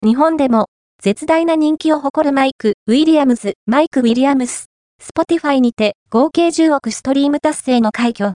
日本でも絶大な人気を誇るマイク・ウィリアムズ、Spotify にて合計10億ストリーム達成の快挙。